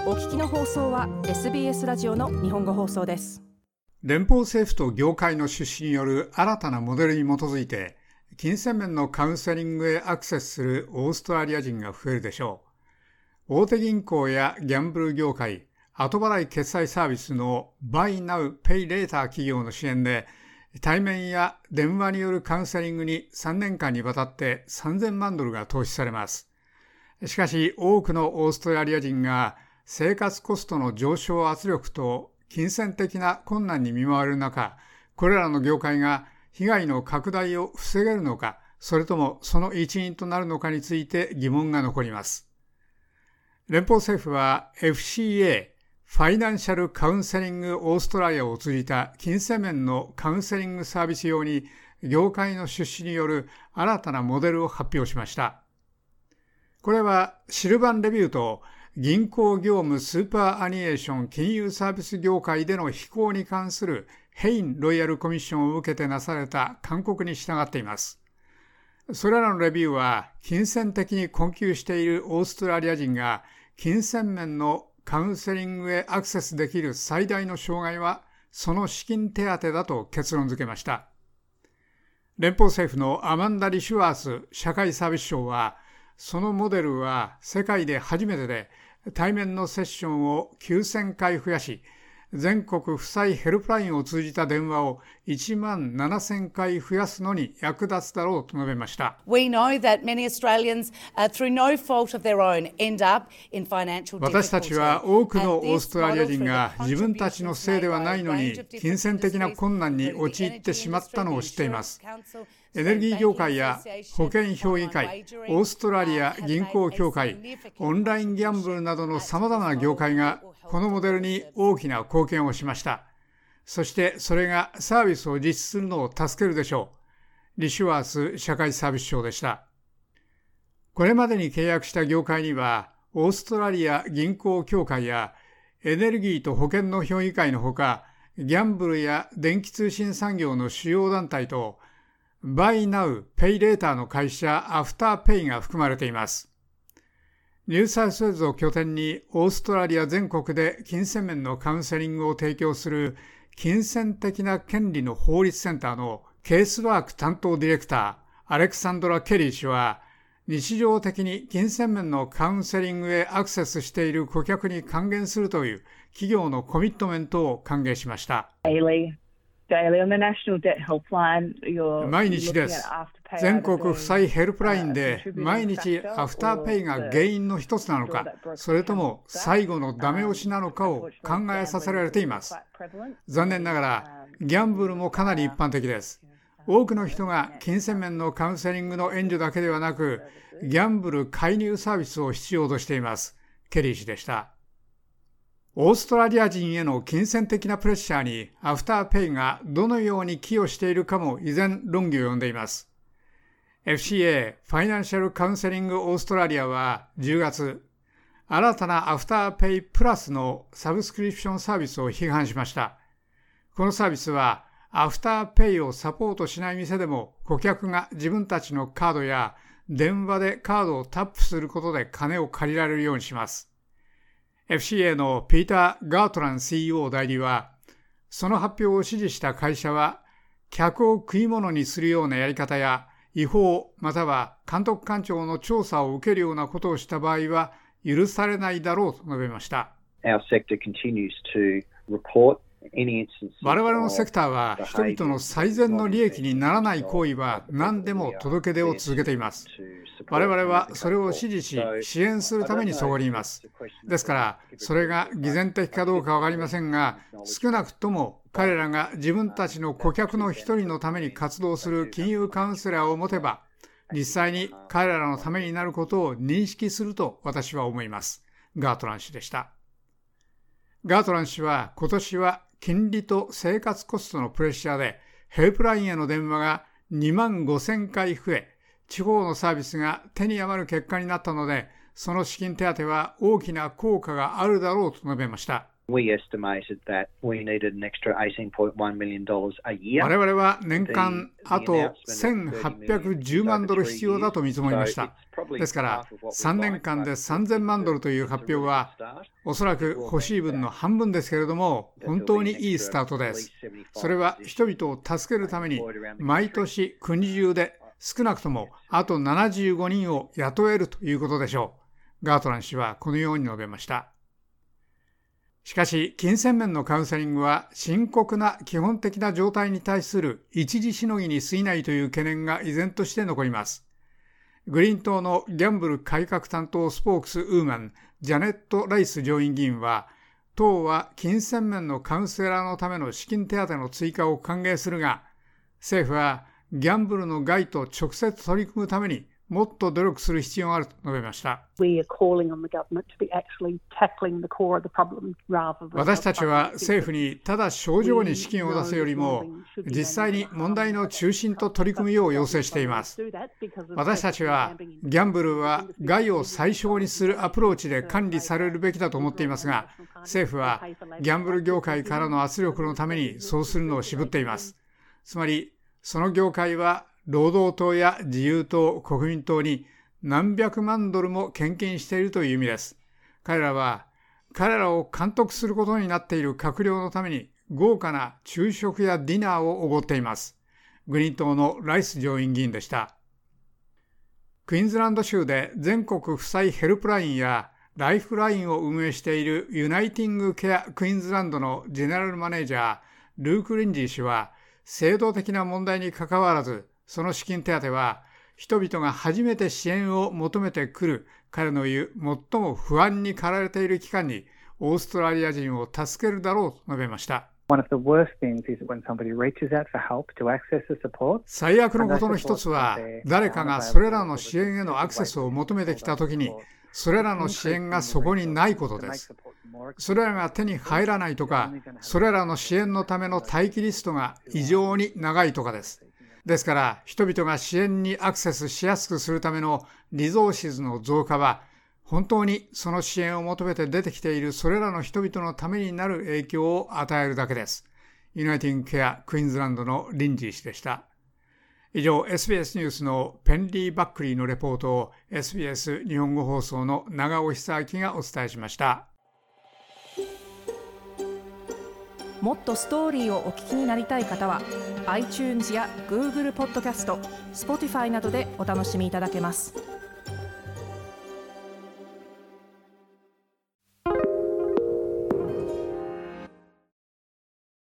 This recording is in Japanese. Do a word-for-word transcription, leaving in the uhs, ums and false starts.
お聞きの放送は エスビーエス ラジオの日本語放送です。 連邦政府と業界の出資による新たなモデルに基づいて、金銭面のカウンセリングへアクセスするオーストラリア人が増えるでしょう。大手銀行やギャンブル業界、後払い決済サービスの Buy Now Pay Later 企業の支援で、対面や電話によるカウンセリングにさんねんかんにわたってさんぜんまんドルが投資されます。しかし多くのオーストラリア人が生活コストの上昇圧力と金銭的な困難に見舞われる中、これらの業界が被害の拡大を防げるのか、それともその一因となるのかについて疑問が残ります。連邦政府は エフシーエー、ファイナンシャルカウンセリングオーストラリアを通じた金銭面のカウンセリングサービス用に業界の出資による新たなモデルを発表しました。これはシルバンレビューと銀行業務スーパーアニエーション金融サービス業界での非行に関するヘインロイヤルコミッションを受けてなされた勧告に従っています。それらのレビューは金銭的に困窮しているオーストラリア人が金銭面のカウンセリングへアクセスできる最大の障害はその資金手当だと結論付けました。連邦政府のアマンダ・リシュワース社会サービス省は、そのモデルは世界で初めてで対面のセッションをきゅうせんかい増やし、全国負債ヘルプラインを通じた電話をいちまんななせんかい増やすのに役立つだろうと述べました。 We know that many Australians, uh, through no fault of their own, end up in financial difficulty. 私たちは多くのオーストラリア人が自分たちのせいではないのに金銭的な困難に陥ってしまったのを知っています。エネルギー業界や保険評議会、オーストラリア銀行協会、オンラインギャンブルなどの様々な業界がこのモデルに大きな貢献をしました。そしてそれがサービスを実施するのを助けるでしょう。リシュワース社会サービス省でした。これまでに契約した業界には、オーストラリア銀行協会やエネルギーと保険の評議会のほか、ギャンブルや電気通信産業の主要団体と、Buy Now Pay Later の会社アフターペイが含まれています。ニューサウスウェールズを拠点にオーストラリア全国で金銭面のカウンセリングを提供する金銭的な権利の法律センターのケースワーク担当ディレクターアレクサンドラ・ケリー氏は、日常的に金銭面のカウンセリングへアクセスしている顧客に還元するという企業のコミットメントを歓迎しました。毎日です。全国負債ヘルプラインで毎日アフターペイが原因の一つなのか、それとも最後のダメ押しなのかを考えさせられています。残念ながらギャンブルもかなり一般的です。多くの人が金銭面のカウンセリングの援助だけではなく、ギャンブル介入サービスを必要としています。ケリー氏でした。オーストラリア人への金銭的なプレッシャーにアフターペイがどのように寄与しているかも依然論議を呼んでいます。エフシーエー ファイナンシャルカウンセリングオーストラリアはじゅうがつ、新たなアフターペイプラスのサブスクリプションサービスを批判しました。このサービスはアフターペイをサポートしない店でも顧客が自分たちのカードや電話でカードをタップすることで金を借りられるようにします。エフシーエー のピーター・ガートラン シーイーオー 代理は、その発表を支持した会社は、客を食い物にするようなやり方や、違法または監督官庁の調査を受けるようなことをした場合は、許されないだろうと述べました。 Our sector continues to report 我々のセクターは人々の最善の利益にならない行為は何でも届け出を続けています。我々はそれを支持し支援するためにそこにいます。ですからそれが偽善的かどうかわかりませんが、少なくとも彼らが自分たちの顧客の一人のために活動する金融カウンセラーを持てば、実際に彼らのためになることを認識すると私は思います。ガートラン氏でした。ガートラン氏は今年は金利と生活コストのプレッシャーでヘルプラインへの電話がにまんごせんかい増え、地方のサービスが手に余る結果になったので、その資金手当は大きな効果があるだろうと述べました。 We estimated that we needed an extra eighteen point one million dollars a year. 我々は年間あとせんはっぴゃくじゅうまんドル必要だと見積もりました。ですからさんねんかんでさんぜんまんドルという発表はおそらく欲しい分の半分ですけれども、本当にいいスタートです。それは人々を助けるために毎年国中で少なくともあとななじゅうごにんを雇えるということでしょう。ガートラン氏はこのように述べました。しかし、金銭面のカウンセリングは深刻な基本的な状態に対する一時しのぎに過ぎないという懸念が依然として残ります。グリーン党のギャンブル改革担当スポークスウーマン、ジャネット・ライス上院議員は、党は金銭面のカウンセラーのための資金手当の追加を歓迎するが、政府はギャンブルの害と直接取り組むためにもっと努力する必要があると述べました。私たちは政府にただ症状に資金を出すよりも実際に問題の中心と取り組むよう要請しています。私たちはギャンブルは害を最小にするアプローチで管理されるべきだと思っていますが、政府はギャンブル業界からの圧力のためにそうするのを渋っています。つまりその業界は労働党や自由党、国民党に何百万ドルも献金しているという意味です。彼らは彼らを監督することになっている閣僚のために豪華な昼食やディナーをおごっています。グリーン党のライス上院議員でした。クイーンズランド州で全国負債ヘルプラインやライフラインを運営しているユナイティングケアクイーンズランドのジェネラルマネージャー、ルーク・リンジー氏は、制度的な問題にかかわらず、その資金手当は人々が初めて支援を求めてくる彼の言う最も不安に駆られている期間にオーストラリア人を助けるだろうと述べました。最悪のことの一つは誰かがそれらの支援へのアクセスを求めてきたときにそれらの支援がそこにないことです。それらが手に入らないとかそれらの支援のための待機リストが異常に長いとかです。ですから人々が支援にアクセスしやすくするためのリゾーシズの増加は本当にその支援を求めて出てきているそれらの人々のためになる影響を与えるだけです。ユナイティングケアクイーンズランドのリンジー氏でした。以上 エスビーエス ニュースのペンリー・バックリーのレポートを エスビーエス 日本語放送の長尾久明がお伝えしました。 もっとストーリーをお聞きになりたい方は iTunes や Google ポッドキャスト、Spotify などでお楽しみいただけます。